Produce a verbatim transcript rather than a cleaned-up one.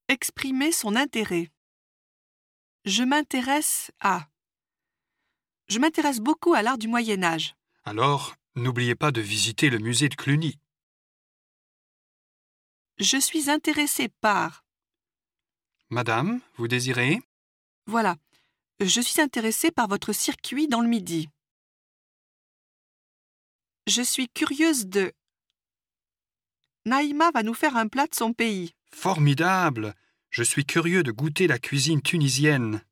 Exprimer son intérêt. Je m'intéresse à. Je m'intéresse beaucoup à l'art du Moyen Âge. Alors, n'oubliez pas de visiter le musée de Cluny. Je suis intéressé par. Madame, vous désirez? Voilà. Je suis intéressé par votre circuit dans le Midi. Je suis curieuse de. Naïma va nous faire un plat de son pays. Formidable! Je suis curieux de goûter la cuisine tunisienne.